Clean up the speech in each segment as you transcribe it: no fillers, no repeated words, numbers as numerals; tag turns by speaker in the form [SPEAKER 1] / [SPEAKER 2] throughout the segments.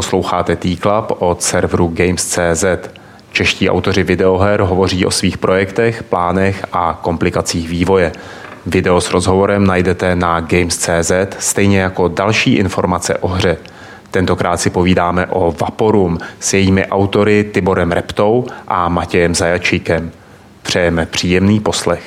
[SPEAKER 1] Posloucháte T-Club od serveru Games.cz. Čeští autoři videoher hovoří o svých projektech, plánech a komplikacích vývoje. Video s rozhovorem najdete na Games.cz, stejně jako další informace o hře. Tentokrát si povídáme o Vaporum s jejími autory Tiborem Reptou a Matějem Zajačíkem. Přejeme příjemný poslech.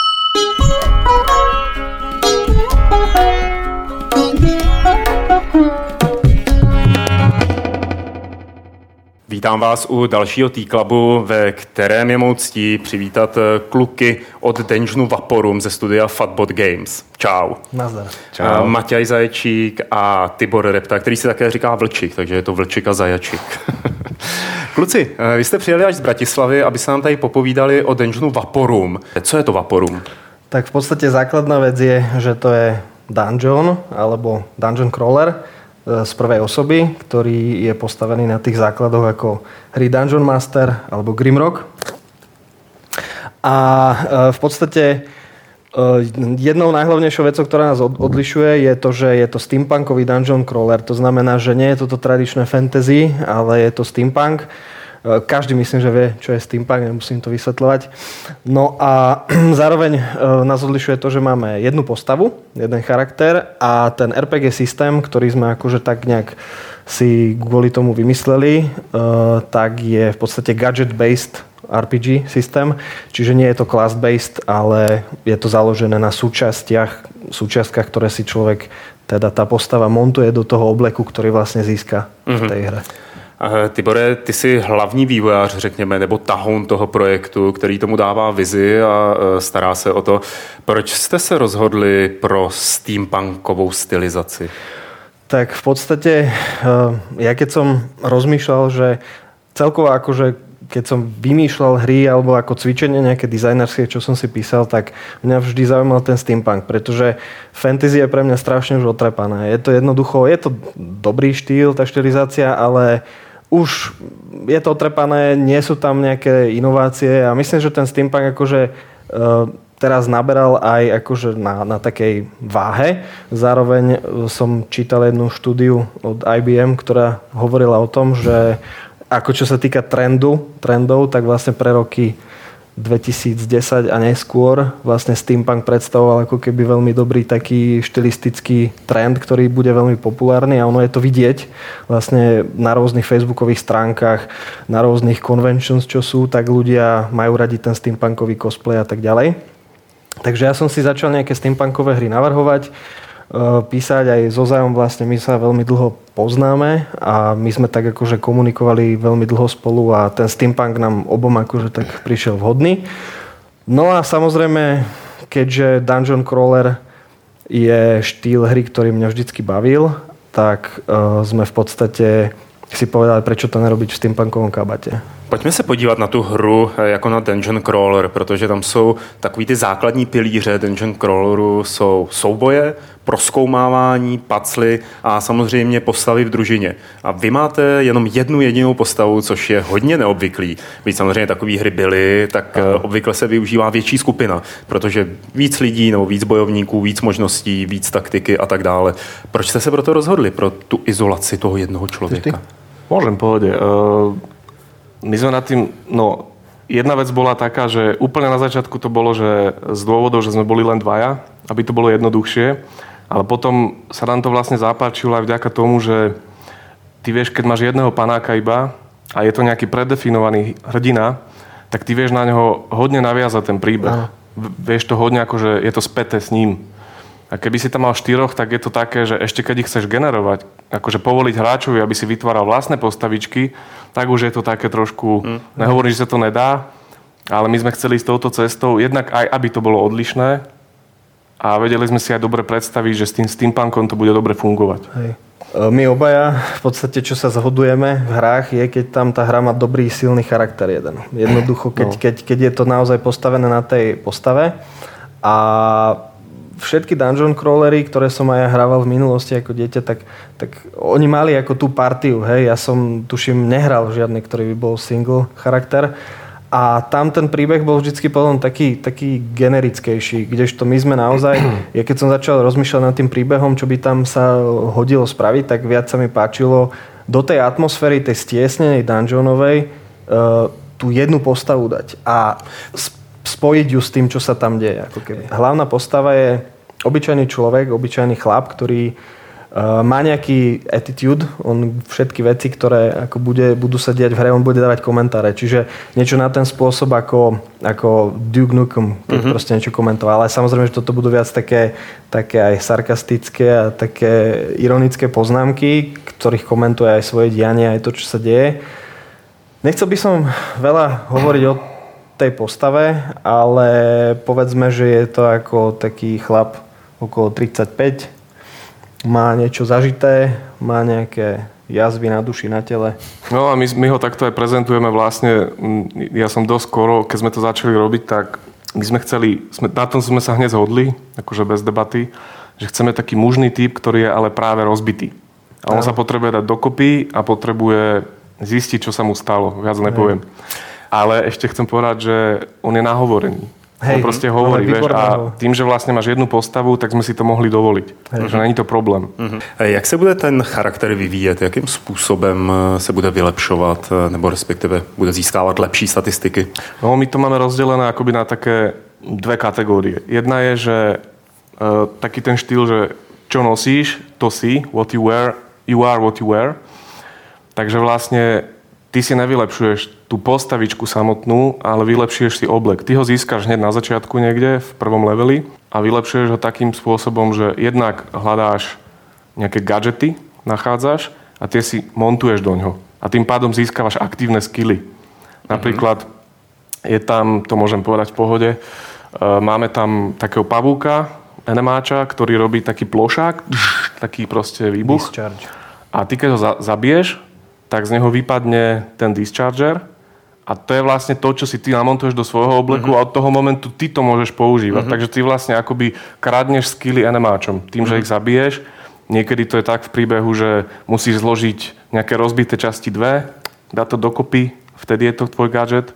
[SPEAKER 1] Vítám vás u dalšího T-Clubu, ve kterém je mou ctí přivítat kluky od Dungeonu Vaporum ze studia Fatbot Games. Čau.
[SPEAKER 2] Nazdar.
[SPEAKER 1] Čau. Matěj Zajačík a Tibor Repta, který si také říká Vlčík, takže je to Vlčík a Zajačík. Kluci, vy jste přijeli až z Bratislavy, aby se nám tady popovídali o Dungeonu Vaporum. Co je to Vaporum?
[SPEAKER 2] Tak v podstate základná vec je, že to je dungeon alebo dungeon crawler z prvej osoby, ktorý je postavený na tých základoch ako hry Dungeon Master alebo Grimrock. A v podstate jednou najhlavnejšou vecou, ktorá nás odlišuje, je to, že je to steampunkový dungeon crawler. To znamená, že nie je toto tradičné fantasy, ale je to steampunk. Každý myslím, že vie, čo je steampunk, nemusím to vysvetľovať. No a zároveň nás odlišuje to, že máme jednu postavu, jeden charakter a ten RPG systém, ktorý sme akože tak nejak si kvôli tomu vymysleli, tak je v podstate gadget-based RPG systém, čiže nie je to class-based, ale je to založené na súčiastkách, ktoré si človek, teda tá postava montuje do toho obleku, ktorý vlastne získa v tej hre.
[SPEAKER 1] Tibore, ty jsi hlavní vývojář, řekněme, nebo tahoun toho projektu, který tomu dává vizi a stará se o to. Proč jste se rozhodli pro steampunkovou stylizaci?
[SPEAKER 2] Tak v podstate, ja keď som rozmýšľal, že celkovo akože keď som vymýšľal hry alebo ako cvičenie nejaké dizajnerské, čo som si písal, tak mňa vždy zaujímal ten steampunk, pretože fantasy je pre mňa strašne už otrepané. Je to jednoducho, je to dobrý štýl, tá štilizácia, ale už je to otrepané, nie sú tam nejaké inovácie a myslím, že ten steampunk akože teraz naberal aj akože na takej váhe. Zároveň som čítal jednu štúdiu od IBM, ktorá hovorila o tom, že ako čo sa týka trendov, tak vlastne pre roky 2010 a neskôr vlastne steampunk predstavoval ako keby veľmi dobrý taký štilistický trend, ktorý bude veľmi populárny a ono je to vidieť vlastne na rôznych facebookových stránkach, na rôznych conventions, čo sú, tak ľudia majú radi ten steampunkový cosplay a tak ďalej. Takže ja som si začal nejaké steampunkové hry navrhovať, písať aj so Zajom, vlastne my sa veľmi dlho poznáme a my sme tak akože komunikovali veľmi dlho spolu a ten steampunk nám obom akože tak prišiel vhodný. No a samozrejme, keďže dungeon crawler je štýl hry, ktorý mňa vždycky bavil, tak sme v podstate si povedali, prečo to nerobiť v steampunkovom kabate.
[SPEAKER 1] Pojďme se podívat na tu hru jako na Dungeon Crawler, protože tam jsou takový ty základní pilíře Dungeon Crawleru, jsou souboje, prozkoumávání, pacly a samozřejmě postavy v družině. A vy máte jenom jednu jedinou postavu, což je hodně neobvyklý. Byť samozřejmě takový hry byly, tak obvykle se využívá větší skupina, protože víc lidí nebo víc bojovníků, víc možností, víc taktiky a tak dále. Proč jste se proto rozhodli, pro tu izolaci toho jednoho člověka?
[SPEAKER 3] Môžem povedať. My sme nad tým, jedna vec bola taká, že úplne na začiatku to bolo, že z dôvodov, že sme boli len dvaja, aby to bolo jednoduchšie, ale potom sa nám to vlastne zapáčilo aj vďaka tomu, že ty vieš, keď máš jedného panáka iba a je to nejaký predefinovaný hrdina, tak ty vieš na neho hodne naviazať ten príbeh. Vieš to hodne, akože je to späté s ním. A keby si tam mal 4, tak je to také, že ešte keď ich chceš generovať, akože povoliť hráčovi, aby si vytváral vlastné postavičky, tak už je to také trošku, nehovorím, že sa to nedá, ale my sme chceli ísť touto cestou, jednak aj, aby to bolo odlišné a vedeli sme si aj dobre predstaviť, že s tým steampunkom to bude dobre fungovať.
[SPEAKER 2] Hej. My obaja v podstate, čo sa zhodujeme v hrách, je, keď tam tá hra má dobrý, silný charakter jeden. Jednoducho, keď je to naozaj postavené na tej postave a všetky dungeon crawlery, ktoré som aj ja hrával v minulosti ako dieťa, tak oni mali ako tú partiu, hej. Ja som, tuším, nehral žiadny, ktorý by bol single charakter. A tam ten príbeh bol vždycky potom taký generickejší, kdežto my sme naozaj, ja keď som začal rozmýšľať nad tým príbehom, čo by tam sa hodilo spraviť, tak viac sa mi páčilo do tej atmosféry, tej stiesnenej dungeonovej tú jednu postavu dať a spojiť ju s tým, čo sa tam deje. Ako keby. Hlavná postava je obyčajný človek, obyčajný chlap, ktorý má nejaký attitude, on všetky veci, ktoré ako budú sa diať v hre, on bude dávať komentáre. Čiže niečo na ten spôsob ako Duke Nukem, keď proste niečo komentoval. Ale samozrejme, že toto budú viac také aj sarkastické a také ironické poznámky, ktorých komentuje aj svoje dianie, aj to, čo sa deje. Nechcel by som veľa hovoriť o tej postave, ale povedzme, že je to ako taký chlap okolo 35, má niečo zažité, má nejaké jazvy na duši, na tele.
[SPEAKER 3] No a my ho takto aj prezentujeme vlastne. Ja som dosť skoro, keď sme to začali robiť, tak my sme chceli, na tom sme sa hneď zhodli, akože bez debaty, že chceme taký mužný typ, ktorý je ale práve rozbitý. A on sa potrebuje dať dokopy a potrebuje zistiť, čo sa mu stalo. Viac nepoviem. Ale ešte chcem povedať, že on je nahovorený. On proste hovorí, vieš, a tým, že vlastne máš jednu postavu, tak sme si to mohli dovoliť. Takže není to problém.
[SPEAKER 1] Jak se bude ten charakter vyvíjet? Jakým způsobem se bude vylepšovat, nebo respektive bude získávat lepší statistiky?
[SPEAKER 3] No, my to máme rozdelené akoby na také dve kategórie. Jedna je, že taký ten štýl, že čo nosíš, to si, what you wear, you are what you wear. Takže vlastne ty si nevylepšuješ tú postavičku samotnú, ale vylepšuješ si oblek. Ty ho získaš hneď na začiatku niekde v prvom leveli a vylepšuješ ho takým spôsobom, že jednak hľadáš nejaké gadžety, nachádzaš a tie si montuješ do ňoho. A tým pádom získavaš aktívne skily. Napríklad je tam, to môžem povedať v pohode, máme tam takého pavúka, enemáča, ktorý robí taký plošák, taký proste výbuch.
[SPEAKER 2] Discharge.
[SPEAKER 3] A ty keď ho zabiješ, tak z neho vypadne ten discharger a to je vlastne to, čo si ty namontuješ do svojho obleku a od toho momentu ty to môžeš používať. Takže ty vlastne akoby kradneš skily enemáčom tým, že ich zabiješ. Niekedy to je tak v príbehu, že musíš zložiť nejaké rozbité časti dve, dať to dokopy, vtedy je to tvoj gadget.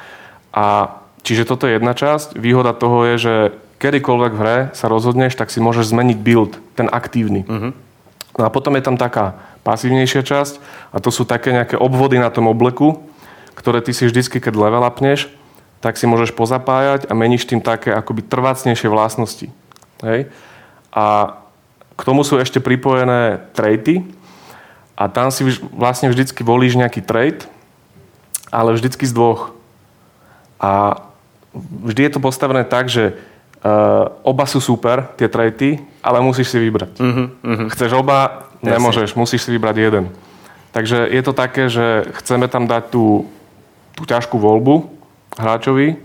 [SPEAKER 3] A čiže toto je jedna časť. Výhoda toho je, že kedykoľvek v hre sa rozhodneš, tak si môžeš zmeniť build, ten aktívny. No a potom je tam taká pasívnejšia časť a to sú také nejaké obvody na tom obleku, ktoré ty si vždycky, keď level upneš, tak si môžeš pozapájať a meníš tým také akoby trvácnejšie vlastnosti. Hej? A k tomu sú ešte pripojené traity a tam si vlastne vždycky volíš nejaký trait, ale vždycky z dvoch. A vždy je to postavené tak, že oba sú super, tie traity, ale musíš si vybrať. Chceš oba, nemôžeš, musíš si vybrať jeden. Takže je to také, že chceme tam dať tú ťažkú voľbu hráčovi,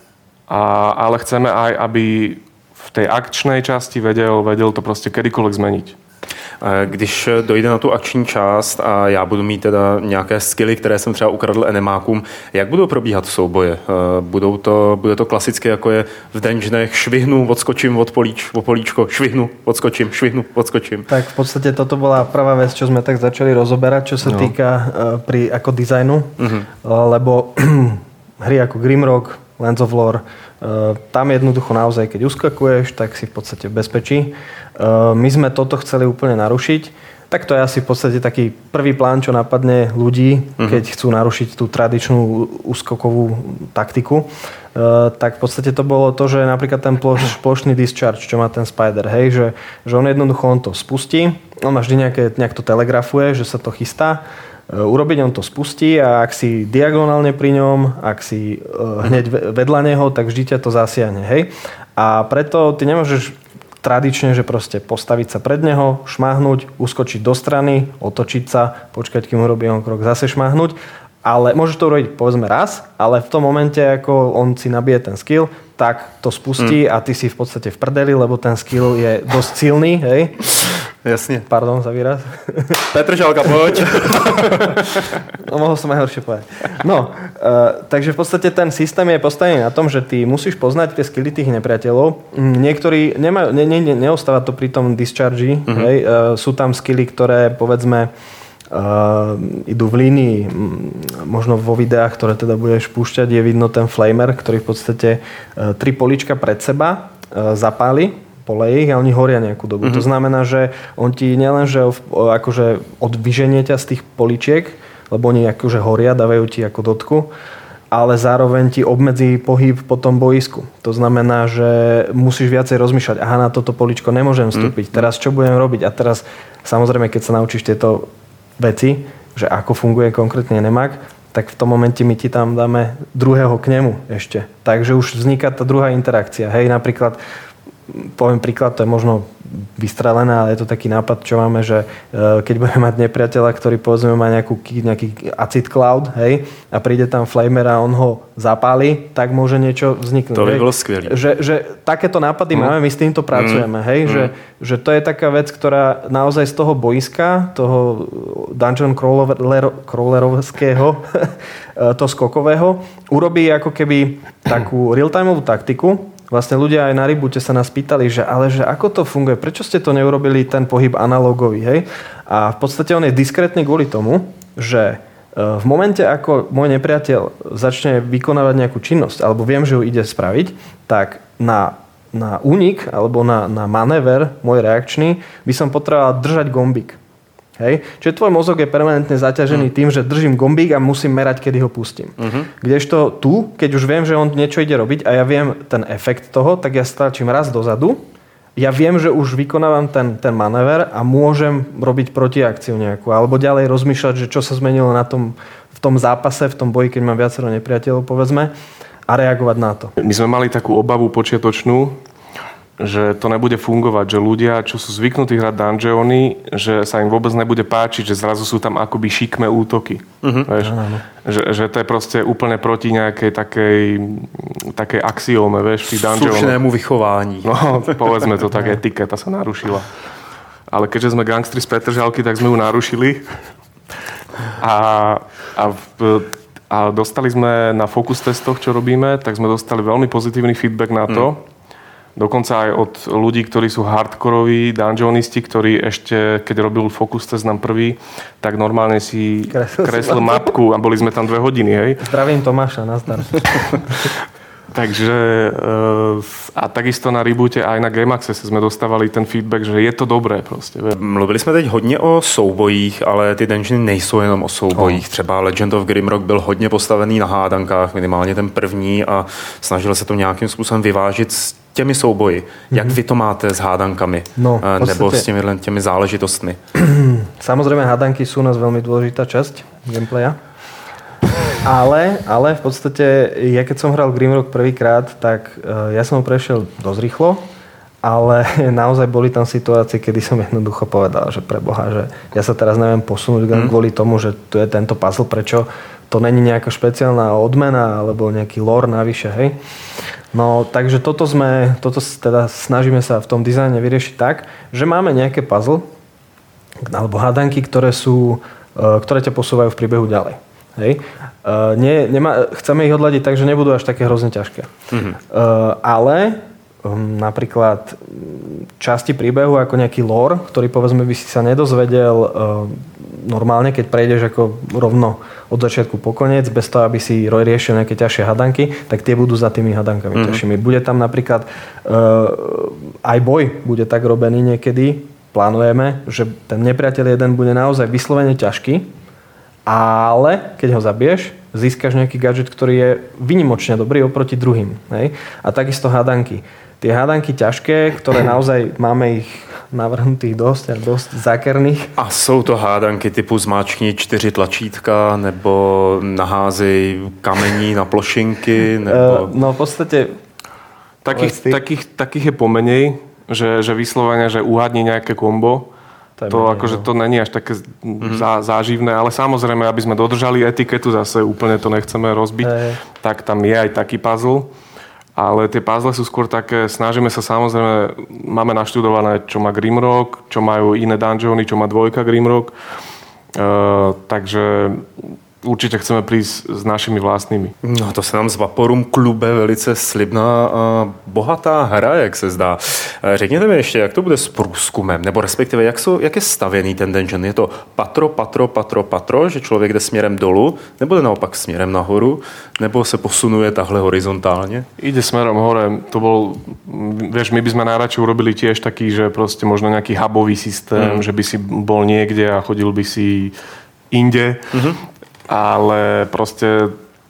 [SPEAKER 3] ale chceme aj, aby v tej akčnej časti vedel to proste kedykoľvek zmeniť.
[SPEAKER 1] Když dojde na tu akční část a já budu mít teda nějaké skilly, které jsem třeba ukradl enemákům, jak budou probíhat souboje? Bude to klasicky, jako je v dungeonech, švihnu, odskočím od políčko, švihnu, odskočím, švihnu, odskočím.
[SPEAKER 2] Tak v podstate toto bola prvá vec, čo sme tak začali rozoberať, čo sa týka ako dizajnu, lebo hry ako Grimrock, Lands of Lore, tam jednoducho naozaj, keď uskakuješ, tak si v podstate v bezpečí. My sme toto chceli úplne narušiť. Tak to je asi v podstate taký prvý plán, čo napadne ľudí, keď chcú narušiť tú tradičnú úskokovú taktiku. Tak v podstate to bolo to, že napríklad ten plošný discharge, čo má ten Spider, hej, že on jednoducho on to spustí, on má vždy nejak to telegrafuje, že sa to chystá urobiť, on to spustí a ak si diagonálne pri ňom, ak si hneď vedľa neho, tak vždy ťa to zasiahne, hej. A preto ty nemôžeš tradične, že proste postaviť sa pred neho, šmáhnuť, uskočiť do strany, otočiť sa, počkať, kým urobí on krok, zase šmáhnuť. Ale môžeš to urobiť povedzme raz, ale v tom momente, ako on si nabije ten skill, tak to spustí a ty si v podstate v prdeli, lebo ten skill je dosť silný, hej.
[SPEAKER 1] Jasne.
[SPEAKER 2] Pardon za výraz.
[SPEAKER 1] Petr Žalka, poď.
[SPEAKER 2] No, mohol som aj horšie povedať. No, takže v podstate ten systém je postavený na tom, že ty musíš poznať tie skilly tých nepriateľov. Niektorí nemajú, neostáva to pri tom discharge, hej. Sú tam skilly, ktoré povedzme idú v línii, možno vo videách, ktoré teda budeš púšťať, je vidno ten flamer, ktorý v podstate 3 políčka pred seba zapáli poleje ich a oni horia nejakú dobu. To znamená, že on ti nielenže akože odvyženie ťa z tých poličiek, lebo oni akože horia, dávajú ti ako dotku, ale zároveň ti obmedzí pohyb po tom boisku. To znamená, že musíš viacej rozmýšľať, aha, na toto poličko nemôžem vstúpiť, teraz čo budem robiť? A teraz, samozrejme, keď sa naučíš tieto veci, že ako funguje konkrétne nemak, tak v tom momente my ti tam dáme druhého k nemu ešte. Takže už vzniká tá druhá interakcia. Hej, napríklad, poviem príklad, to je možno vystrelené, ale je to taký nápad, čo máme, že keď budeme mať nepriateľa, ktorý povedzme má nejaký acid cloud, hej, a príde tam flamer a on ho zapáli, tak môže niečo vzniknúť.
[SPEAKER 1] To by bolo skvelé.
[SPEAKER 2] Že takéto nápady máme, my s týmto pracujeme, hej, že to je taká vec, ktorá naozaj z toho boiska, toho dungeon crawlerovského, to skokového, urobí ako keby takú real-timeovú taktiku. Vlastne ľudia aj na Reboote sa nás pýtali, že ako to funguje, prečo ste to neurobili ten pohyb analogový, hej? A v podstate on je diskrétny kvôli tomu, že v momente, ako môj nepriateľ začne vykonávať nejakú činnosť, alebo viem, že ju ide spraviť, tak na únik, alebo na manéver môj reakčný, by som potreboval držať gombík. Hej? Čiže tvoj mozog je permanentne zaťažený tým, že držím gombík a musím merať, kedy ho pustím. Kdežto tu, keď už viem, že on niečo ide robiť a ja viem ten efekt toho, tak ja stlačím raz dozadu, ja viem, že už vykonávam ten manéver a môžem robiť protiakciu nejakú, alebo ďalej rozmýšľať, že čo sa zmenilo v tom zápase, v tom boji, keď mám viacero nepriateľov, povedzme, a reagovať na to.
[SPEAKER 3] My sme mali takú obavu počiatočnú, že to nebude fungovať, že ľudia, čo sú zvyknutí hrať dungeony, že sa im vôbec nebude páčiť, že zrazu sú tam akoby šikmé útoky. Vieš? Že to je proste úplne proti nejakej takej axióme, vieš, v tých dungeonoch.
[SPEAKER 1] Slušnému vychování.
[SPEAKER 3] No, povedzme to tak, etiketa sa narušila. Ale keďže sme gangstri z Petržalky, tak sme ju narušili. A dostali sme na focus testoch, čo robíme, tak sme dostali veľmi pozitívny feedback na to, dokonca aj od ľudí, ktorí sú hardkoroví dungeonisti, ktorí ešte, keď robil focus test nám prvý, tak normálne si kreslil mapku a boli sme tam 2 hodiny, hej.
[SPEAKER 2] Zdravím Tomáša, nazdar.
[SPEAKER 3] Takže a takisto na Reboote aj na Game Access sme dostávali ten feedback, že je to dobré prostě.
[SPEAKER 1] Mluvili jsme teď hodně o soubojích, ale ty dungeony nejsou jenom o soubojích. Třeba Legend of Grimrock byl hodně postavený na hádankách, minimálně ten první, a snažil se to nějakým způsobem vyvážit s těmi souboji. Jak vy to máte s hádankami?
[SPEAKER 2] No,
[SPEAKER 1] nebo s těmi záležitostmi?
[SPEAKER 2] Samozrejme, hádanky sú u nás veľmi dôležitá časť gameplaya. Ale v podstate, ja keď som hral Grimrock prvýkrát, tak ja som ho prešiel dosť rýchlo, ale naozaj boli tam situácie, kedy som jednoducho povedal, že preboha, že ja sa teraz neviem posunúť kvôli tomu, že tu je tento puzzle, prečo to není nejaká špeciálna odmena alebo nejaký lore navyše, hej. No, takže toto teda snažíme sa v tom dizajne vyriešiť tak, že máme nejaké puzzle alebo hádanky, ktoré ťa posúvajú v príbehu ďalej. Hej. Chceme ich odladiť tak, že nebudú až také hrozne ťažké. Ale napríklad časti príbehu ako nejaký lore, ktorý povedzme by si sa nedozvedel normálne, keď prejdeš ako rovno od začiatku po koniec, bez toho, aby si riešil nejaké ťažšie hadanky, tak tie budú za tými hadankami ťažšími. Bude tam napríklad aj boj bude tak robený niekedy, plánujeme, že ten nepriateľ jeden bude naozaj vyslovene ťažký, ale keď ho zabiješ, získaš nejaký gadget, ktorý je výnimočne dobrý oproti druhým. Hej? A takisto hádanky. Tie hádanky ťažké, ktoré naozaj máme ich navrhnutých dosť zákerných.
[SPEAKER 1] A jsou to hádanky typu zmáčkni 4 tlačítka, nebo naházej kamení na plošinky, nebo...
[SPEAKER 2] No v podstate...
[SPEAKER 3] Takých je pomenej, že vyslovene, že uhádni nejaké kombo. To akože to není až také záživné, ale samozrejme, aby sme dodržali etiketu, zase úplne to nechceme rozbiť, tak tam je aj taký puzzle. Ale tie puzzle sú skôr také, snažíme sa samozrejme, máme naštudované, čo má Grimrock, čo majú iné dungeony, čo má 2 Grimrock. Takže určitě chceme prísť s našimi vlastními.
[SPEAKER 1] No to se nám z Vaporum klube velice slibná a bohatá hra, jak se zdá. Řekněte mi ještě, jak to bude s průzkumem, nebo respektive jak je stavěný ten dungeon? Je to patro, že člověk jde směrem dolů, nebo jde naopak směrem nahoru, nebo se posunuje tahle horizontálně?
[SPEAKER 3] Ide smerom hore. To bol, vieš, my by sme najradšej urobili tiež taký, že proste možno nejaký hubový systém, že by si bol niekde a chodil by si inde. Ale proste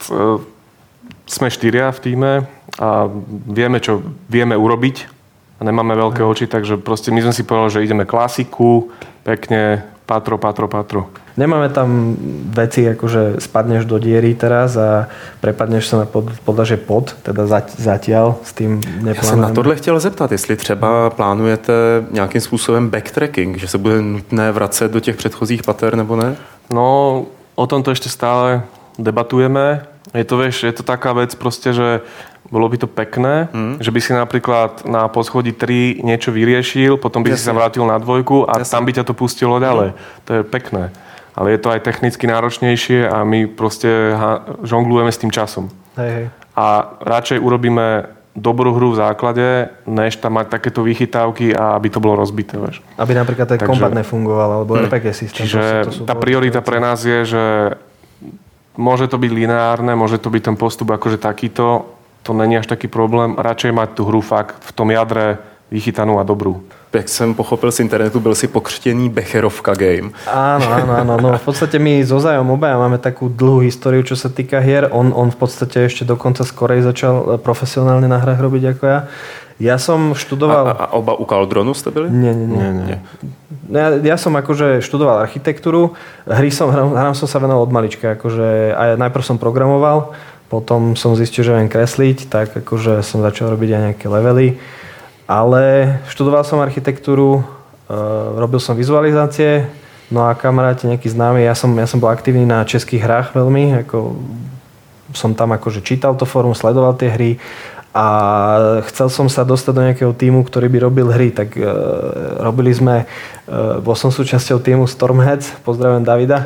[SPEAKER 3] sme 4 v tíme a vieme, čo vieme urobiť a nemáme veľké oči, takže proste my sme si povedali, že ideme klasiku, pekne, patro.
[SPEAKER 2] Nemáme tam veci, ako že spadneš do diery teraz a prepadneš sa na podlaže pod, teda zatiaľ s tým neplánujeme.
[SPEAKER 1] Já jsem na tohle chtěl zeptat, jestli třeba plánujete nějakým způsobem backtracking, že se bude nutné vracet do těch předchozích pater, nebo ne?
[SPEAKER 3] No, o tomto ešte stále debatujeme. Je to, vieš, je to taká vec proste, že bolo by to pekné, že by si napríklad na poschodí 3 niečo vyriešil, potom by si sa vrátil na 2 a tam by ťa to pustilo ďalej. To je pekné. Ale je to aj technicky náročnejšie a my proste žonglujeme s tým časom.
[SPEAKER 2] Hej.
[SPEAKER 3] A radšej urobíme dobrú hru v základe, než tam mať takéto vychytávky a aby to bolo rozbité. Vieš.
[SPEAKER 2] Aby napríklad ten kombat nefungoval, alebo RPG systém.
[SPEAKER 3] Čiže tá priorita pre nás je, že môže to byť lineárne, môže to byť ten postup akože takýto, to není až taký problém. Radšej mať tú hru fakt v tom jadre vychytanú a dobrú.
[SPEAKER 1] Jak jsem pochopil z internetu, byl si pokřtěný Becherovka game.
[SPEAKER 2] Áno. No, v podstate my so Zajom obaja máme takú dlhú históriu, čo sa týka hier. On v podstate ešte dokonca skorej začal profesionálne na hrách robiť ako ja. Ja som študoval...
[SPEAKER 1] A oba u Caldronu ste byli?
[SPEAKER 2] Nie. Ja som akože študoval architektúru. Hrám som sa venoval od malička. Akože, a najprv som programoval, potom som zistil, že viem kresliť, tak akože som začal robiť aj nejaké levely. Ale študoval som architektúru, robil som vizualizácie, no a kamaráti nejakí známi, ja som bol aktívny na českých hrách veľmi, ako som tam akože čítal to fórum, sledoval tie hry a chcel som sa dostať do nejakého tímu, ktorý by robil hry, tak robili sme, bol som súčasťou tímu Stormheads, pozdravujem Davida,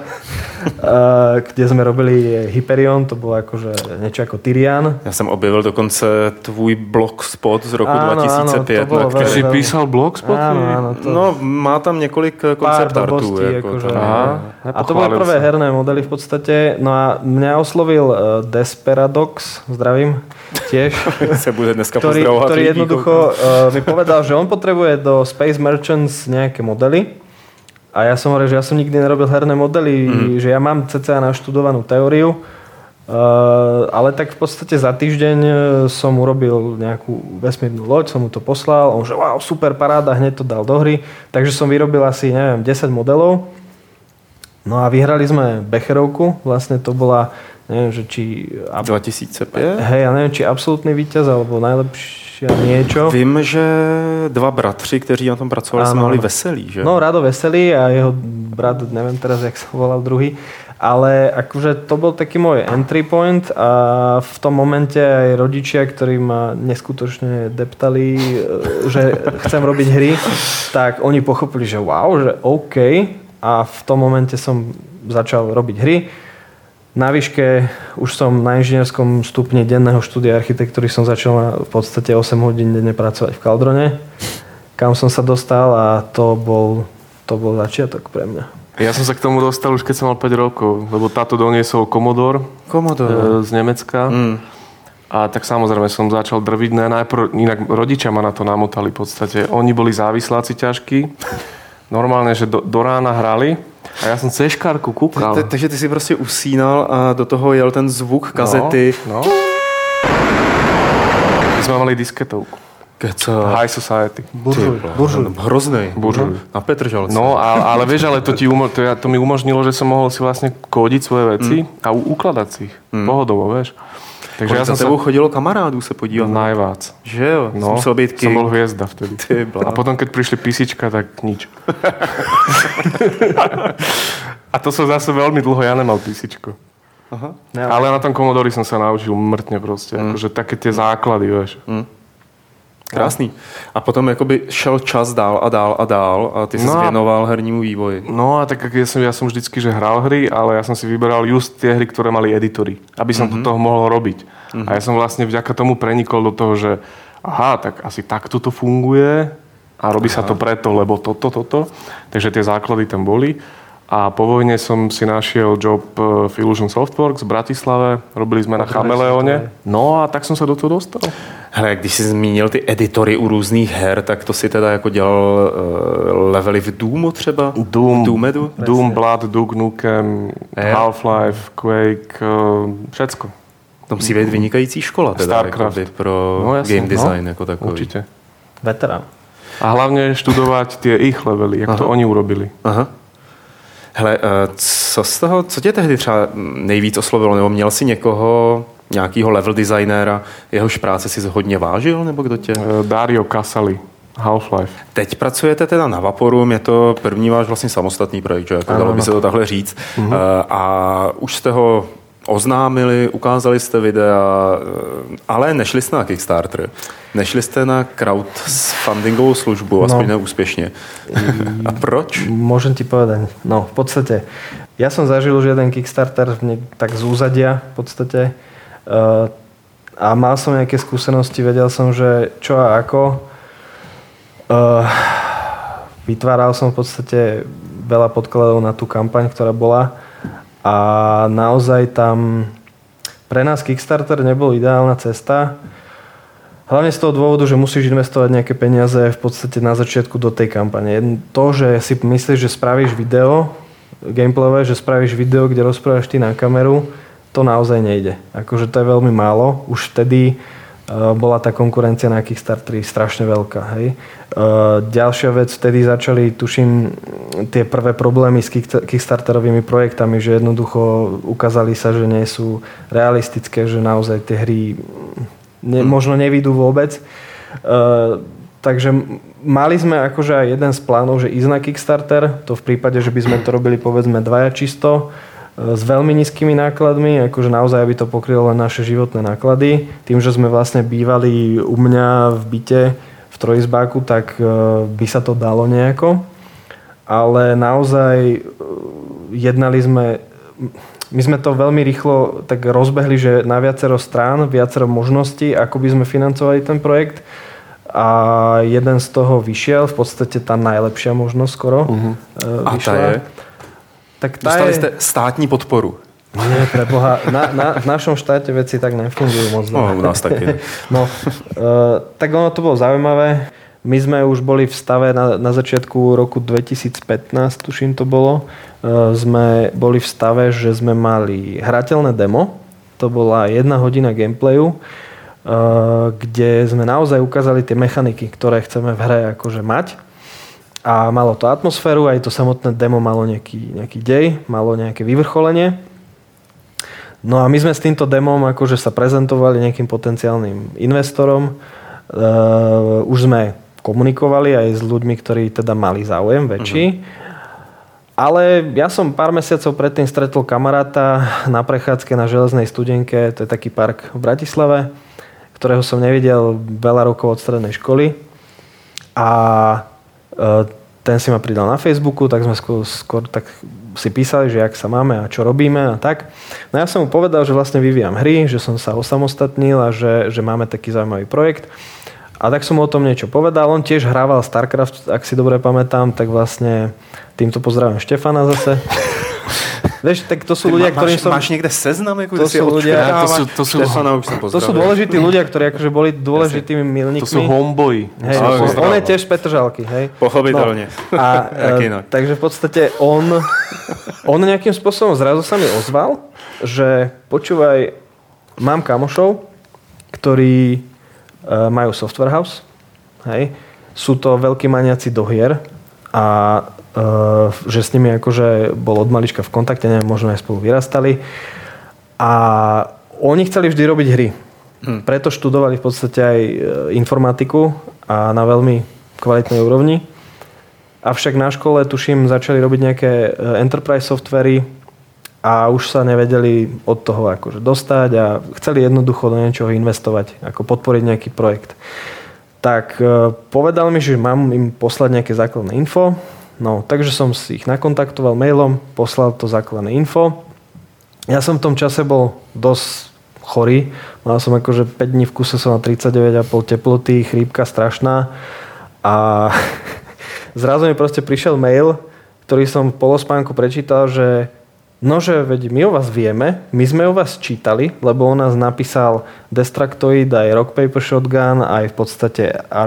[SPEAKER 2] kde sme robili Hyperion, to bolo akože niečo ako Tyrian.
[SPEAKER 1] Já jsem objevil dokonce tvůj blogspot z roku 2005.
[SPEAKER 2] Áno,
[SPEAKER 3] Ty si písal blogspot?
[SPEAKER 2] Áno,
[SPEAKER 1] No, má tam několik koncept artů.
[SPEAKER 2] Akože, a to boli prvé herné modely v podstate. No a mňa oslovil Desperadox, zdravím, tiež.
[SPEAKER 1] Se bude dneska pozdravovať.
[SPEAKER 2] Ktorý jednoducho mi povedal, že on potrebuje do Space Merchants nejaké modely. A ja som hovoril, že ja som nikdy nerobil herné modely, že ja mám cca naštudovanú teóriu, ale tak v podstate za týždeň som urobil nejakú vesmírnu loď, som mu to poslal, on že wow, super paráda, hneď to dal do hry, takže som vyrobil asi, neviem, 10 modelov. No a vyhrali sme Becherovku, vlastne to bola, neviem, že či...
[SPEAKER 1] 2005?
[SPEAKER 2] Hej, ja neviem, či absolútny víťaz, alebo najlepšia niečo.
[SPEAKER 1] Vím, že 2 bratři, kteří na tom pracovali, se mali Veselý, že?
[SPEAKER 2] No, Rado Veselý a jeho brat, neviem teraz, jak sa volal druhý, ale akože to bol taký môj entry point a v tom momente aj rodičia, ktorí ma neskutočne deptali, že chcem robiť hry, tak oni pochopili, že wow, že OK. A v tom momente som začal robiť hry. Na výške už som na inžinierskom stupni denného štúdia architektúry som začal v podstate 8 hodín denne pracovať v Caldrone, kam som sa dostal a to bol začiatok pre mňa.
[SPEAKER 3] Ja som sa k tomu dostal už keď som mal 5 rokov, lebo táto doniesol Commodore. Z Nemecka. A tak samozrejme som začal drviť. Najprv, inak rodičia ma na to namotali v podstate. Oni boli závisláci ťažkí. Normálne, že do rána hrali a ja som cez škárku kúkal.
[SPEAKER 1] Takže ty si prostě usínal a do toho jel ten zvuk kazety.
[SPEAKER 3] No. My sme mali disketovku. High Society.
[SPEAKER 2] Buržuj.
[SPEAKER 1] Hroznej. Na Petržalce.
[SPEAKER 3] No, ale vieš, ale to mi umožnilo, že som mohol si vlastne kódiť svoje veci a ukladať si ich. Pohodovo, vieš.
[SPEAKER 1] Takže ja som tebou chodilo kamarádů se podívat.
[SPEAKER 3] Najvác.
[SPEAKER 1] Že jo?
[SPEAKER 3] No,
[SPEAKER 1] musel být king.
[SPEAKER 3] Som bol hviezda vtedy. A potom, keď prišli písička, tak nič. A to som zase veľmi dlho, ja nemal písičko.
[SPEAKER 1] Aha.
[SPEAKER 3] Ale na tom Commodore som sa naučil mŕtne proste. Akože také tie základy, vieš.
[SPEAKER 1] Krásný. A potom jakoby šel čas dál a dál a dál a ty sa zvěnoval hernímu vývoji.
[SPEAKER 3] No a tak ja som vždycky, že hral hry, ale ja som si vyberal just tie hry, ktoré mali editory, aby som do toho mohol robiť. A ja som vlastne vďaka tomu prenikol do toho, že aha, tak asi takto to funguje a robí sa to preto, lebo toto. Takže tie základy tam boli. A po vojne som si našiel job v Illusion Softworks v Bratislave. Robili sme na Chameleone. No a tak som sa do toho dostal.
[SPEAKER 1] Hele, když jsi zmínil ty editory u různých her, tak to si teda jako dělal levely v Doomu třeba?
[SPEAKER 3] Doom, Blood, Duke Nukem, Half-Life, Quake, všecko.
[SPEAKER 1] To musí být vynikající škola teda pro game design jako takový.
[SPEAKER 3] Určite.
[SPEAKER 2] Veterán.
[SPEAKER 3] A hlavne študovať tie ich levely, jak to oni urobili.
[SPEAKER 1] Aha. Hele, co tě tehdy třeba nejvíc oslovilo? Nebo měl jsi někoho, nějakýho level designéra, jehož práce si hodně vážil? Nebo kdo tě?
[SPEAKER 3] Dario Casali, Half-Life.
[SPEAKER 1] Teď pracujete teda na Vaporu, je to první váš vlastně samostatný projekt, že? Jako dalo by se to takhle říct. A už jste ho oznámili, ukázali jste videa, ale nešli jste na Kickstarter. Nešli jste na crowdfundingovou službu, aspoň neúspěšně. A proč?
[SPEAKER 2] Môžem ti povedať. No, v podstate, ja som zažil už jeden Kickstarter tak z úzadia v podstate a mal som nejaké skúsenosti, vedel som, že čo a ako. Vytváral som v podstate veľa podkladov na tú kampaň, ktorá bola. A naozaj tam pre nás Kickstarter nebol ideálna cesta. Hlavne z toho dôvodu, že musíš investovať nejaké peniaze v podstate na začiatku do tej kampane. To, že si myslíš, že spravíš video gameplayové, že spravíš video, kde rozprávaš ty na kameru, to naozaj nejde. Akože to je veľmi málo. Už vtedy bola tá konkurencia na Kickstarteri strašne veľká. Hej. Ďalšia vec, vtedy začali, tuším, tie prvé problémy s Kickstarterovými projektami, že jednoducho ukázali sa, že nie sú realistické, že naozaj tie hry možno nevídu vôbec. Takže mali sme akože aj jeden z plánov, že ísť na Kickstarter, to v prípade, že by sme to robili povedzme dvaja čisto, s veľmi nízkymi nákladmi, akože naozaj by to pokrylo len naše životné náklady. Tým, že sme vlastne bývali u mňa v byte v trojizbáku, tak by sa to dalo nejako. Ale naozaj jednali sme, my sme to veľmi rýchlo tak rozbehli, že na viacero strán, viacero možností, ako by sme financovali ten projekt. A jeden z toho vyšiel, v podstate tá najlepšia možnosť skoro vyšla.
[SPEAKER 1] A tá je?
[SPEAKER 2] Tak
[SPEAKER 1] dostali ste státní podporu.
[SPEAKER 2] Nie, preboha. V našom štáte veci tak nefungujú moc.
[SPEAKER 1] No, u nás taky.
[SPEAKER 2] No, tak ono to bolo zaujímavé. My sme už boli v stave na začiatku roku 2015, tuším to bolo. Sme boli v stave, že sme mali hrateľné demo. To bola 1 hodina gameplayu, kde sme naozaj ukázali tie mechaniky, ktoré chceme v hre akože mať. A malo to atmosféru, aj to samotné demo malo nejaký dej, malo nejaké vyvrcholenie. No a my sme s týmto demom akože sa prezentovali nejakým potenciálnym investorom. Už sme komunikovali aj s ľuďmi, ktorí teda mali záujem väčší. Ale ja som pár mesiacov predtým stretol kamaráta na prechádzke na Železnej Studenke, to je taký park v Bratislave, ktorého som nevidel veľa rokov od strednej školy. A ten si ma pridal na Facebooku, tak sme skôr tak si písali, že jak sa máme a čo robíme a tak. No ja som mu povedal, že vlastne vyvíjam hry, že som sa osamostatnil a že máme taký zaujímavý projekt. A tak som mu o tom niečo povedal. On tiež hrával StarCraft, ak si dobre pamätám, tak vlastne týmto pozdravím Štefana zase. Vieš, tak to sú ľudia, ktorí som...
[SPEAKER 1] Máš niekde seznam?
[SPEAKER 2] To sú ľudia...
[SPEAKER 1] Štefana už som pozdravil.
[SPEAKER 2] To sú dôležití ľudia, ktorí akože boli dôležitými milníkmi.
[SPEAKER 3] To sú homeboy.
[SPEAKER 2] Hej, on je tiež z Petržalky, hej.
[SPEAKER 1] Pochopiteľne.
[SPEAKER 2] No. Takže v podstate on nejakým spôsobom zrazu sa mi ozval, že počúvaj, mám kamošov, ktorí majú software house, hej. Sú to veľkí maniaci do hier a že s nimi akože bol od malička v kontakte, neviem, možno aj spolu vyrastali. A oni chceli vždy robiť hry. Preto študovali v podstate aj informatiku a na veľmi kvalitnej úrovni. Avšak na škole, tuším, začali robiť nejaké enterprise softvery a už sa nevedeli od toho akože dostať a chceli jednoducho do niečoho investovať, ako podporiť nejaký projekt. tak povedal mi, že mám im poslať nejaké základné info. No, takže som si ich nakontaktoval mailom, poslal to základné info. Ja som v tom čase bol dosť chorý. Mal som akože 5 dní v kuse, som na 39,5 teploty, chrípka strašná. A zrazu mi proste prišiel mail, ktorý som v polospánku prečítal, že nože, veď my o vás vieme, my sme o vás čítali, lebo on nás napísal Destructoid, aj Rock Paper Shotgun, aj v podstate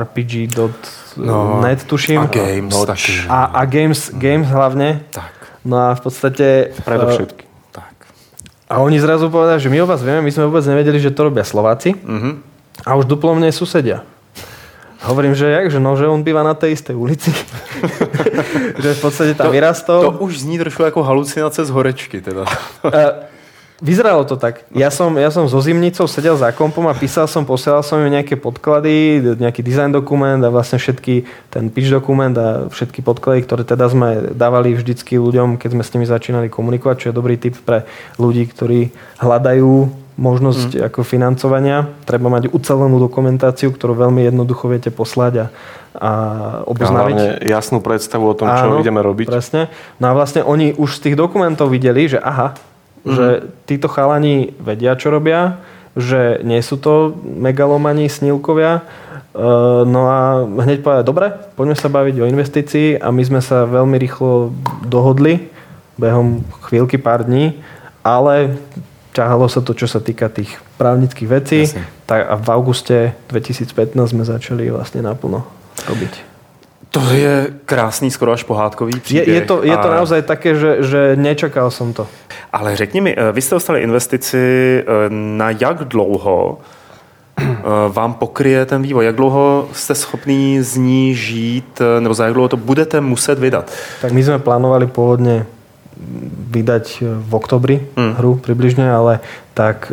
[SPEAKER 2] RPG.net, tuším.
[SPEAKER 1] A Games.
[SPEAKER 2] A Games hlavne.
[SPEAKER 1] Tak.
[SPEAKER 2] No a v podstate...
[SPEAKER 3] Predovšetky.
[SPEAKER 1] Tak.
[SPEAKER 2] A oni zrazu povedali, že my o vás vieme, my sme vôbec nevedeli, že to robia Slováci. A už duplo mne susedia. Hovorím, že že on býva na tej istej ulici. Že v podstate tam vyrastol.
[SPEAKER 1] To už zní trošku ako halucinace z horečky. Teda.
[SPEAKER 2] Vyzeralo to tak. Ja som so zimnicou sedel za kompom a posielal som im nejaké podklady, nejaký design dokument a vlastne ten pitch dokument a všetky podklady, ktoré teda sme dávali vždycky ľuďom, keď sme s nimi začínali komunikovať, čo je dobrý tip pre ľudí, ktorí hľadajú možnosť ako financovania. Treba mať ucelenú dokumentáciu, ktorú veľmi jednoducho viete poslať a oboznámiť.
[SPEAKER 3] A hlavne jasnú predstavu o tom, čo ideme robiť.
[SPEAKER 2] Presne. No a vlastne oni už z tých dokumentov videli, že že títo chalani vedia, čo robia, že nie sú to megalomani, snílkovia. No a hneď povedať, dobre, poďme sa baviť o investícii a my sme sa veľmi rýchlo dohodli behom chvíľky, pár dní, ale ťahalo sa to, čo sa týka tých právnických vecí. Tak a v auguste 2015 sme začali vlastne naplno robiť.
[SPEAKER 1] To je krásný, skoro až pohádkový příběh.
[SPEAKER 2] Je to naozaj také, že nečakal som to.
[SPEAKER 1] Ale řekni mi, vy jste dostali investici, na jak dlouho vám pokryje ten vývoj? Jak dlouho jste schopný z ní žít, nebo za jak dlouho to budete muset vydat?
[SPEAKER 2] Tak my sme plánovali pôvodne vydať v oktobri hru približne, ale tak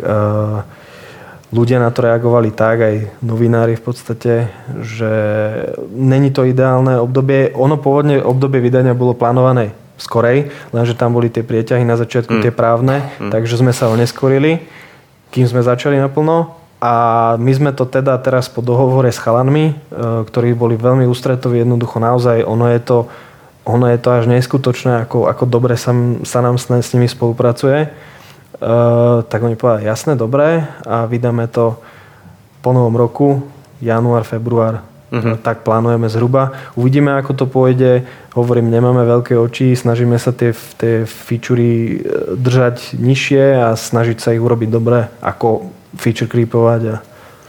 [SPEAKER 2] ľudia na to reagovali tak, aj novinári v podstate, že není to ideálne obdobie. Ono pôvodne obdobie vydania bolo plánované skorej, lenže tam boli tie prieťahy na začiatku, tie právne, takže sme sa oneskorili, kým sme začali naplno. A my sme to teda teraz po dohovore s chalanmi, ktorí boli veľmi ústretoví, jednoducho naozaj, ono je to až neskutočné, ako dobre sa nám s nimi spolupracuje. Tak oni povedali, jasné, dobré, a vydáme to po novom roku, január, február. Tak plánujeme zhruba. Uvidíme, ako to pôjde. Hovorím, nemáme veľké oči, snažíme sa tie featurey držať nižšie a snažiť sa ich urobiť dobre, ako feature creepovať.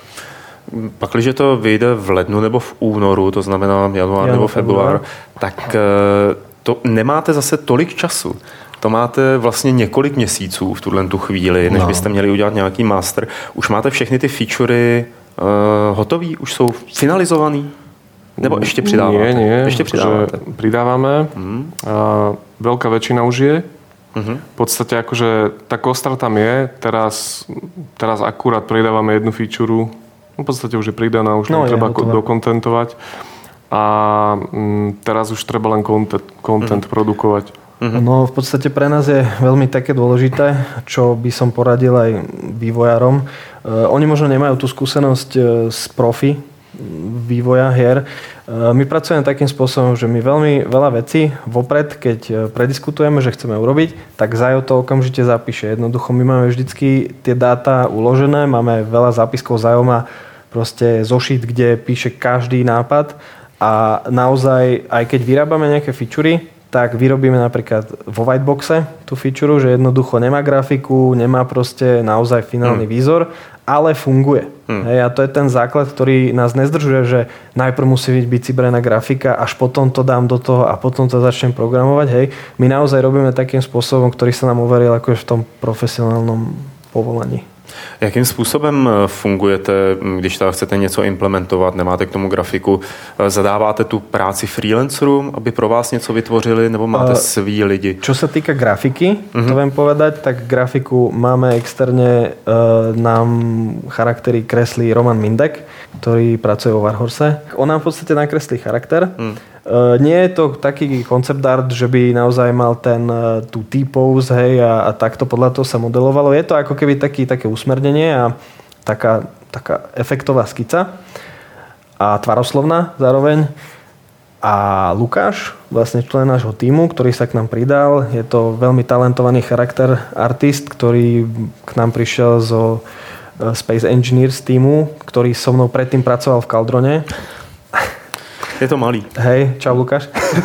[SPEAKER 1] Pakliže to vyjde v lednu nebo v únoru, to znamená január nebo február, tak to nemáte zase tolik času. To máte vlastně několik měsíců v tu chvíli, než byste měli udělat nějaký master. Už máte všechny ty featurey hotový? Už jsou finalizovaný? Nebo ještě přidáváte?
[SPEAKER 3] Nie.
[SPEAKER 1] Ešte přidáváte.
[SPEAKER 3] Pridávame. Veľká väčšina už je. V podstate akože tá kostra tam je. Teraz akurát pridávame jednu featureu. V podstate už je pridaná, už treba dokontentovať. A teraz už treba len content produkovať.
[SPEAKER 2] No v podstate pre nás je veľmi také dôležité, čo by som poradil aj vývojárom. Oni možno nemajú tú skúsenosť z profi vývoja hier. My pracujeme takým spôsobom, že my veľmi veľa vecí vopred, keď prediskutujeme, že chceme urobiť, tak Zajo to okamžite zapíše. Jednoducho my máme vždycky tie dáta uložené, máme veľa zápiskov, Zajo má proste zošit, kde píše každý nápad a naozaj, aj keď vyrábame nejaké featurey, tak vyrobíme napríklad vo whiteboxe tú feature, že jednoducho nemá grafiku, nemá proste naozaj finálny výzor, ale funguje. Hej, a to je ten základ, ktorý nás nezdržuje, že najprv musí byť vycibrená grafika, až potom to dám do toho a potom to začnem programovať. Hej. My naozaj robíme takým spôsobom, ktorý sa nám uveril akože v tom profesionálnom povolaní.
[SPEAKER 1] Jakým způsobem fungujete, když teda chcete něco implementovat, nemáte k tomu grafiku, zadáváte tu práci freelancerům, aby pro vás něco vytvořili, nebo máte svý lidi?
[SPEAKER 2] Čo sa týka grafiky, to viem povedať, tak grafiku máme externe, nám charaktery kreslí Roman Mindek, ktorý pracuje vo Warhorse. On nám v podstate nakreslí charakter. Nie je to taký concept art, že by naozaj mal tú T-pose, hej, a takto podľa toho sa modelovalo. Je to ako keby také usmernenie a taká efektová skica. a tvaroslovná zároveň. A Lukáš, vlastne člen nášho tímu, ktorý sa k nám pridal, je to veľmi talentovaný charakter artist, ktorý k nám prišiel zo Space Engineers tímu, ktorý so mnou predtým pracoval v Caldrone.
[SPEAKER 1] Je to malý.
[SPEAKER 2] Hej, čau Lukáš.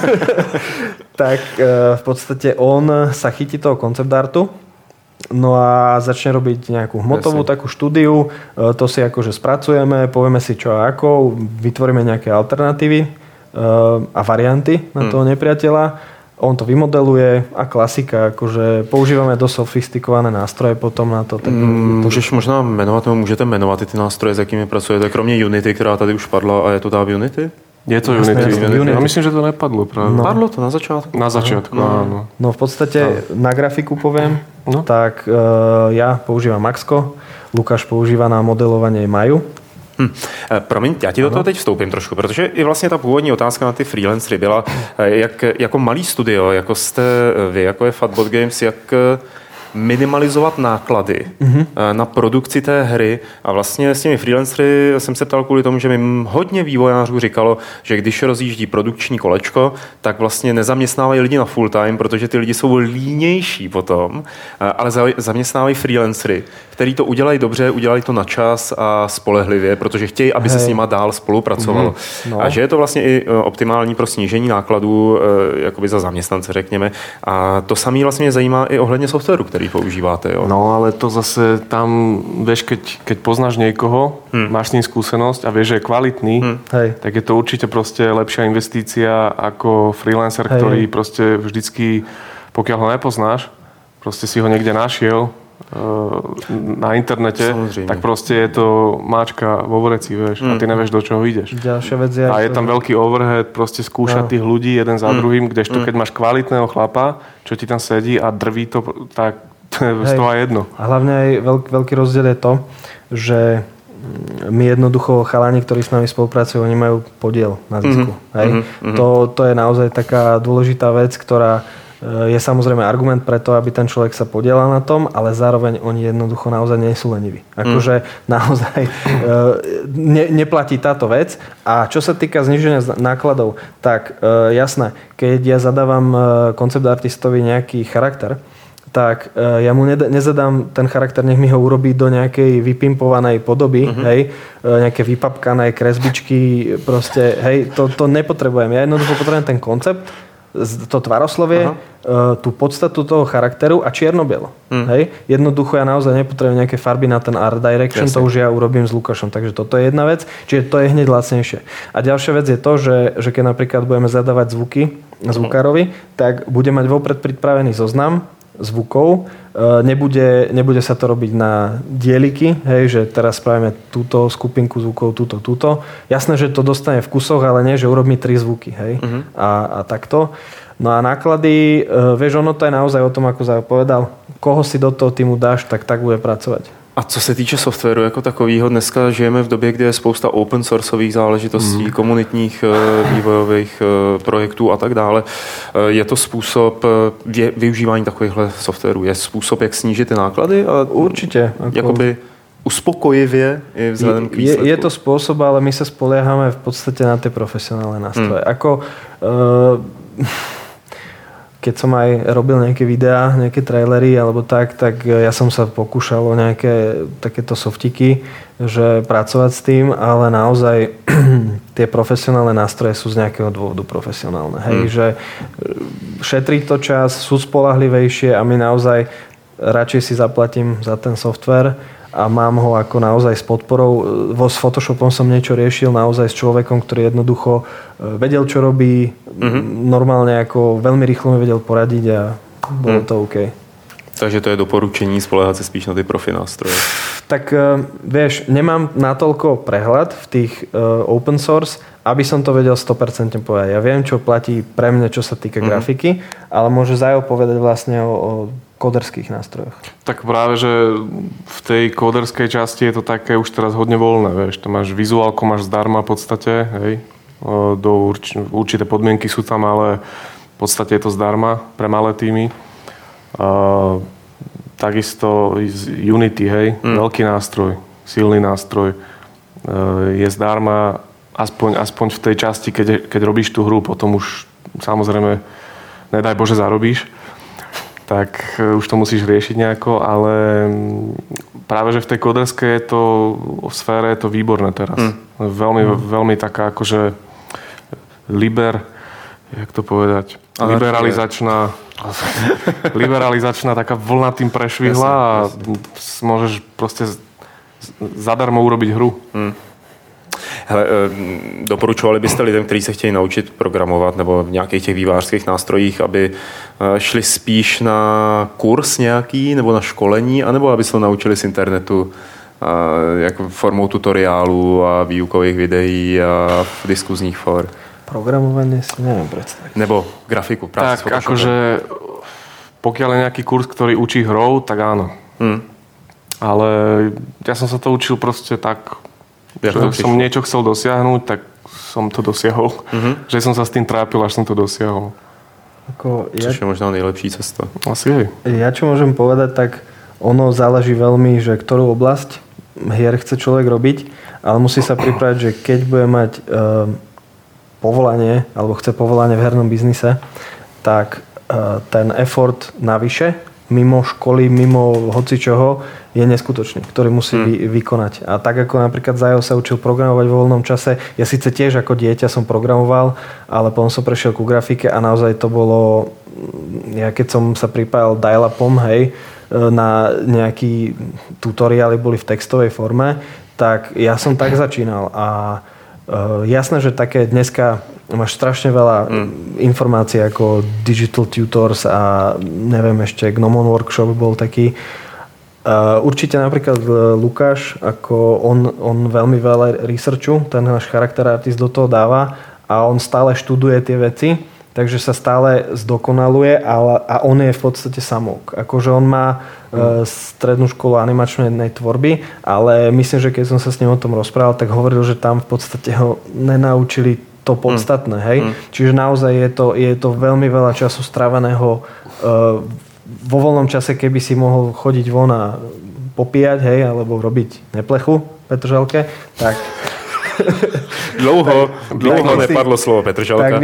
[SPEAKER 2] Tak v podstate on sa chytí toho concept artu, no a začne robiť nejakú hmotovú takú štúdiu, to si akože spracujeme, povieme si čo a ako, vytvoríme nejaké alternatívy a varianty na toho nepriateľa. On to vymodeluje a klasika, akože používame dosť sofistikované nástroje potom na to.
[SPEAKER 1] Můžeš možná jmenovat, nebo můžete jmenovat ty nástroje, s jakými pracujete, kromě Unity, která tady už padla, a je to tá Unity?
[SPEAKER 3] Je to Unity. Ja myslím, že to nepadlo práve.
[SPEAKER 1] No. Padlo to na začiatku?
[SPEAKER 3] Na začiatku, áno.
[SPEAKER 2] No v podstate na grafiku poviem, tak ja používam Maxko, Lukáš používa na modelovanie Maju.
[SPEAKER 1] Promiň, já ti do toho teď vstoupím trošku, protože i vlastně ta původní otázka na ty freelancery byla, jak jako malý studio, jako jste vy, jako je Fatbot Games, jak minimalizovat náklady na produkci té hry. A vlastně s těmi freelancery jsem se ptal kvůli tomu, že mi hodně vývojářů říkalo, že když rozjíždí produkční kolečko, tak vlastně nezaměstnávají lidi na full time, protože ty lidi jsou línější potom, ale zaměstnávají freelancery, který to udělají dobře, udělají to na čas a spolehlivě, protože chtějí, aby se s nima dál spolupracovalo. A že je to vlastně i optimální pro snížení nákladů jakoby za zaměstnance, řekněme. A to samé vlastně mě zajímá i ohledně softwaru, který používáte. Jo?
[SPEAKER 3] No, ale to zase tam, vieš, keď poznáš niekoho, máš s ním skúsenosť a vieš, že je kvalitný, tak je to určite proste lepšia investícia ako freelancer, ktorý proste vždycky, pokiaľ ho nepoznáš, proste si ho niekde našiel na internete, samozrejme, tak proste je to máčka vo vreci, vieš, a ty nevieš, do čoho ideš.
[SPEAKER 2] Ďalšia vec je,
[SPEAKER 3] a je tam veľký overhead, proste skúšať tých ľudí jeden za druhým, kdežto keď máš kvalitného chlapa, čo ti tam sedí a drví to, tak to je z toho aj jedno.
[SPEAKER 2] A hlavne aj veľký rozdiel je to, že my jednoducho chalani, ktorí s nami spolupracujú, oni majú podiel na zisku. To je naozaj taká dôležitá vec, ktorá je samozrejme argument pre to, aby ten človek sa podielal na tom, ale zároveň oni jednoducho naozaj nie sú leniví. Akože naozaj neplatí táto vec. A čo sa týka zníženia nákladov, tak jasné, keď ja zadávam koncept artistovi nejaký charakter, tak ja mu nezadám ten charakter, nech mi ho urobí do nejakej vypimpovanej podoby, hej, nejaké vypapkané kresbičky, proste, hej, to nepotrebujem. Ja jednoducho potrebujem ten koncept, to tvaroslovie, tú podstatu toho charakteru a čierno-bielo. Hej? Jednoducho ja naozaj nepotrebujem nejaké farby na ten art direction, to už ja urobím s Lukášom. Takže toto je jedna vec, čiže to je hneď lacnejšie. A ďalšia vec je to, že keď napríklad budeme zadávať zvuky zvukárovi, tak bude mať vopred pripravený zoznam zvukov. Nebude sa to robiť na dieliky, hej, že teraz spravíme túto skupinku zvukov, túto. Jasné, že to dostane v kusoch, ale nie, že urobí 3 zvuky, hej. A takto. No a náklady, vieš, ono to je naozaj o tom, ako zapovedal, koho si do toho týmu dáš, tak bude pracovať.
[SPEAKER 1] A co se týče softwaru jako takového, dneska žijeme v době, kdy je spousta open sourceových záležitostí, komunitních vývojových projektů a tak dále. Je to způsob využívání takovýchhle softwarů? Je způsob, jak snížit ty náklady? A
[SPEAKER 2] určite.
[SPEAKER 1] Jakoby uspokojivě i vzhledem k výsledku?
[SPEAKER 2] Je to spôsob, ale my sa spoliehame v podstate na tie profesionálne nástroje. Keď som aj robil nejaké videá, nejaké trailery alebo tak ja som sa pokúšal o nejaké takéto softiky, že pracovať s tým, ale naozaj tie profesionálne nástroje sú z nejakého dôvodu profesionálne. Hej, že šetrí to čas, sú spolahlivejšie a my naozaj radšej si zaplatím za ten software a mám ho ako naozaj s podporou. S Photoshopom som niečo riešil naozaj s človekom, ktorý jednoducho vedel, čo robí, normálne ako veľmi rýchlo mi vedel poradiť a bolo to OK.
[SPEAKER 1] Takže to je doporučení spoléhat se spíš na ty profi nástroje.
[SPEAKER 2] Tak vieš, nemám natoľko prehľad v tých open source, aby som to vedel 100% povedať. Ja viem, čo platí pre mňa, čo sa týka grafiky, ale môže Zajo povedať vlastne o kóderských nástrojoch.
[SPEAKER 3] Tak práve, že v tej kóderskej časti je to také už teraz hodne voľné, vieš. To máš vizuálko, máš zdarma v podstate, hej. Určité podmienky sú tam, ale v podstate je to zdarma pre malé týmy. Takisto Unity, hej, veľký nástroj, silný nástroj, je zdarma aspoň v tej časti, keď robíš tú hru, potom už samozrejme, nedaj Bože, zarobíš, tak už to musíš riešiť nejako, ale práve, že v tej koderskej sfére je to výborné teraz. Veľmi taká akože jak to povedať, liberalizačná taká vlna tým prešvihla a môžeš proste zadarmo urobiť hru.
[SPEAKER 1] Hele, doporučovali byste lidem, kteří se chtějí naučit programovat nebo v nějakých těch vývojářských nástrojích, aby šli spíš na kurz nějaký nebo na školení, anebo aby se to naučili z internetu jako formou tutoriálů a výukových videí a diskuzních for?
[SPEAKER 2] Programovanie si neviem predstaviť.
[SPEAKER 1] Nebo grafiku, prácu s Photoshopom.
[SPEAKER 3] Akože pokiaľ je nejaký kurz, ktorý učí hrou, tak áno. Ale ja som sa to učil proste tak, že som niečo chcel dosiahnuť, tak som to dosiahol. Že som sa s tým trápil, až som to dosiahol.
[SPEAKER 1] Což je možná nejlepší cesta.
[SPEAKER 3] Asi hej.
[SPEAKER 2] Ja čo môžem povedať, tak ono záleží veľmi, že ktorú oblasť hier chce človek robiť, ale musí sa pripraviť, že keď bude mať povolanie, alebo chce povolanie v hernom biznise, tak ten effort navyše, mimo školy, mimo hocičoho, je neskutočný, ktorý musí vykonať. A tak ako napríklad Zajo sa učil programovať vo voľnom čase, ja síce tiež ako dieťa som programoval, ale potom som prešiel ku grafike a naozaj to bolo, ja keď som sa pripájal dial-upom, hej, na nejaký tutoriály boli v textovej forme, tak ja som tak začínal a jasné, že také dneska máš strašne veľa informácií ako Digital Tutors a neviem ešte, Gnomon Workshop bol taký. Určite napríklad Lukáš, ako on veľmi veľa researchu, ten náš charakter artist do toho dáva a on stále študuje tie veci, takže sa stále zdokonaluje a on je v podstate samouk. Akože on má strednú školu animačnej tvorby, ale myslím, že keď som sa s ním o tom rozprával, tak hovoril, že tam v podstate ho nenaučili to podstatné. Hej? Čiže naozaj je to veľmi veľa času stráveného vo voľnom čase, keby si mohol chodiť von a popíjať, hej, alebo robiť neplechu Petržalke, tak
[SPEAKER 1] Dlouho nepadlo slovo Petržalka.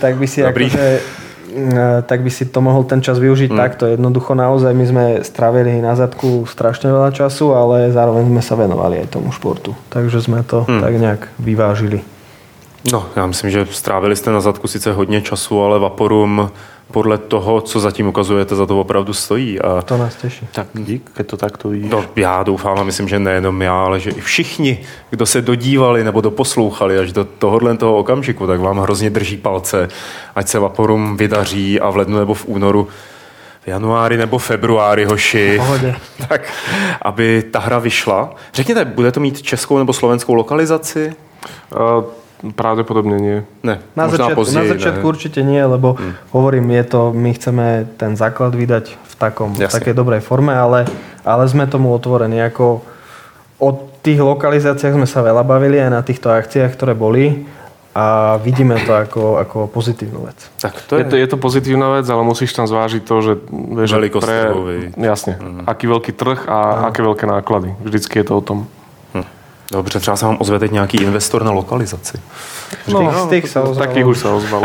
[SPEAKER 2] Tak by si to mohol ten čas využiť takto. Jednoducho naozaj my sme strávili na zadku strašne veľa času, ale zároveň sme sa venovali aj tomu športu. Takže sme to tak nejak vyvážili.
[SPEAKER 1] No, já myslím, že strávili jste na zadku sice hodně času, ale Vaporum podle toho, co zatím ukazujete, za to opravdu stojí. A
[SPEAKER 2] to nás teší.
[SPEAKER 3] Tak dík, keď to takto vidíš.
[SPEAKER 1] No, já doufám a myslím, že nejenom já, ale že i všichni, kdo se dodívali nebo doposlouchali až do toho okamžiku, tak vám hrozně drží palce, ať se Vaporum vydaří a v lednu nebo v únoru, v januári nebo februári, hoši, tak aby ta hra vyšla. Řekněte, bude to mít českou nebo slovenskou lokalizaci?
[SPEAKER 3] Pravdepodobne nie.
[SPEAKER 1] Ne,
[SPEAKER 2] na začiatku určite nie, lebo hovorím, my chceme ten základ vydať v takej dobrej forme, ale sme tomu otvorení. Ako o tých lokalizáciách sme sa veľa bavili aj na týchto akciách, ktoré boli a vidíme to ako pozitívnu vec.
[SPEAKER 3] Tak je to pozitívna vec, ale musíš tam zvážiť to, že jasne, aký veľký trh a aké veľké náklady. Vždycky je to o tom.
[SPEAKER 1] Dobře, třeba se vám ozve teď nějaký investor na lokalizaci.
[SPEAKER 3] Takých už sa ozvalo.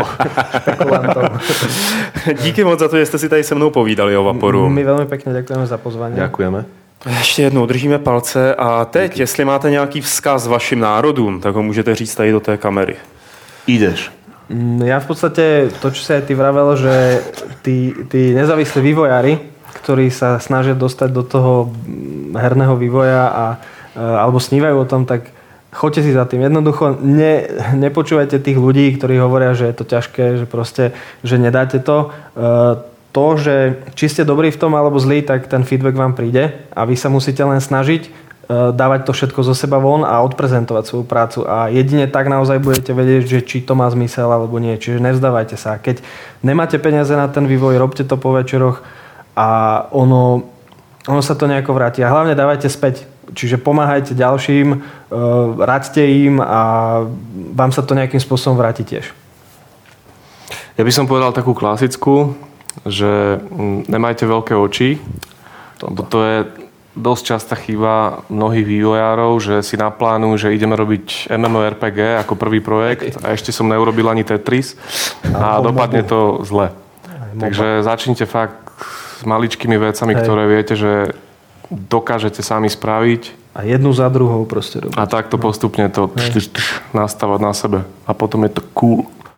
[SPEAKER 1] Díky moc za to, že jste si tady se mnou povídali o Vaporu.
[SPEAKER 2] My velmi pěkně děkujeme za pozvání.
[SPEAKER 3] Děkujeme.
[SPEAKER 1] Ještě jednou držíme palce a teď, jestli máte nějaký vzkaz vašim národům, tak ho můžete říct tady do té kamery.
[SPEAKER 3] Ideš.
[SPEAKER 2] Ja v podstate, to, čo si aj ty vravel, že tí nezávislí vývojári, ktorí sa snažia dostať do toho herného vývoja alebo snívajú o tom, tak choďte si za tým. Jednoducho nepočúvajte tých ľudí, ktorí hovoria, že je to ťažké, že proste, že nedáte to. To, že či ste dobrí v tom alebo zlí, tak ten feedback vám príde a vy sa musíte len snažiť dávať to všetko zo seba von a odprezentovať svoju prácu a jedine tak naozaj budete vedieť, že či to má zmysel alebo nie. Čiže nevzdávajte sa. Keď nemáte peniaze na ten vývoj, robte to po večeroch a ono sa to nejako vráti. A hlavne dávajte späť. Čiže pomáhajte ďalším, raďte im a vám sa to nejakým spôsobom vráti tiež.
[SPEAKER 3] Ja by som povedal takú klasickú, že nemajte veľké oči. To je dosť častá chyba mnohých vývojárov, že si naplánujú, že ideme robiť MMORPG ako prvý projekt a ešte som neurobil ani Tetris a dopadne to zle. Takže začnite fakt s maličkými vecami, ktoré viete, že dokážete sami spraviť.
[SPEAKER 2] A jednu za druhou proste robiť.
[SPEAKER 3] A takto postupne to nastavať na sebe. A potom je to cool.